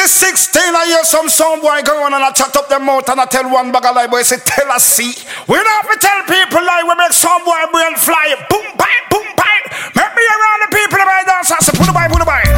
Infinity 16, I hear some boy go on and I chat up them mouth and I tell one bag of lie, boy, say tell us see. We don't have to tell people lie, we make some boy brain fly. Boom, bang, boom, bang. Make me around the people that I dance, I say put the bye, put the bye.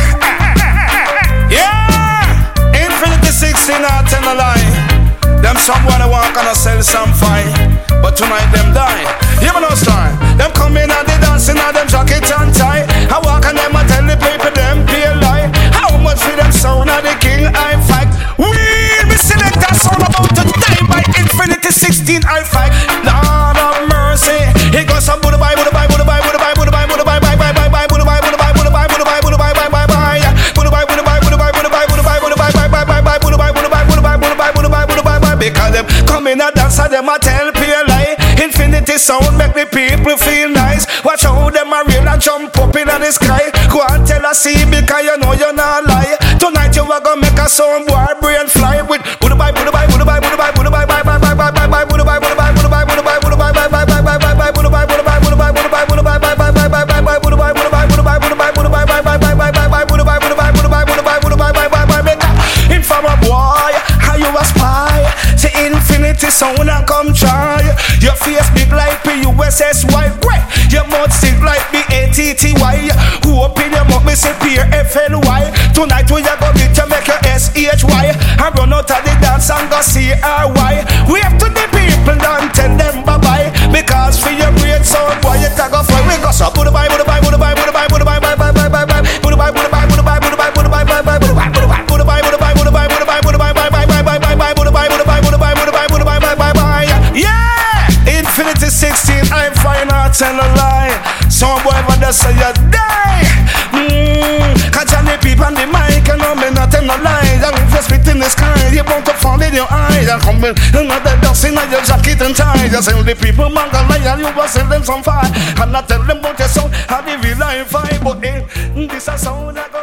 Yeah, Infinity 16, I tell a lie. Them someone I walk and I sell some fine, but tonight them die. You know style. Them come in and they dancing and them jacket and tie. I walk and them I tell the people them pay lie. How much for them sound of the king I fight? We select that sound about to die by Infinity 16 I fight. Lord of mercy. He goes some Buddha bye, Buddha bye, Buddha bye, Buddha bye, Buddha bye, Buddha bye, bye, bye, bye, bye, Buddha bye, Buddha bye, Buddha bye, Buddha bye, Buddha bye, bye, bye, bye, Buddha bye, Buddha bye, Buddha bye, Buddha bye, Buddha bye, Buddha bye, Buddha bye, bye, bye, bye, Buddha bye, Buddha bye, Buddha bye, Buddha bye, Buddha bye, Buddha bye, bye. Because them come in and dance and them a tell pure lie. Infinity sound make the people feel nice. Watch how them a rain and jump up in the sky. Go and tell us see because you know you're not lie. Tonight you are gonna make a sound boy brain fly with Buddha bye, Buddha bye, Buddha bye, Buddha bye, Buddha bye, bye, bye, bye, bye, bye, bye, Buddha bye, Buddha bye, Buddha bye, Buddha bye, Buddha bye, bye, bye, bye, bye, bye, bye, Buddha bye, Buddha bye, Buddha bye, Buddha bye, Buddha bye, bye, bye, bye, bye, bye, bye, Buddha bye, Buddha bye, Buddha bye, Buddha bye, Buddha bye, bye, bye, bye, bye, bye, bye, Buddha bye, Buddha bye, Buddha bye, Buddha bye, Buddha bye, bye, bye, bye, bye. Inform a boy, how you a spy? Say Infinity sound and come try. Your face big like PUSSY. Your mouth stick like BATTY. Who open your mouth me say PFLY. Tonight we are gonna beat you make your SHY. I run out of the dance and go CRY. We have to the people don't tell them bye bye. Because for your great sound boy you tag off we go so Buddha bye, Buddha bye, Buddha bye, Buddha bye, Buddha bye, bye, bye, bye, bye, bye, Buddha bye, Buddha bye, Buddha bye, Buddha bye, Buddha bye, bye, bye, Buddha bye, Buddha bye, Buddha bye, Buddha bye, Buddha bye, Buddha bye, Buddha bye, bye, bye, bye, bye, bye, bye, Buddha bye, Buddha bye, Buddha bye, Buddha bye, Buddha bye, bye, bye, bye. Yeah, Infinity 16, I'm fine, I tell a lie. Some boy for the say you die. Catch on the people on the mic and I'm not telling a lie. And if you spit in the sky, you want to fall in your eyes. And come in another dust in your jacket and tie. Just tell the people man can lie and you will send them some fire. And not tell them about your sound, how they real life vibe. But this is sound I go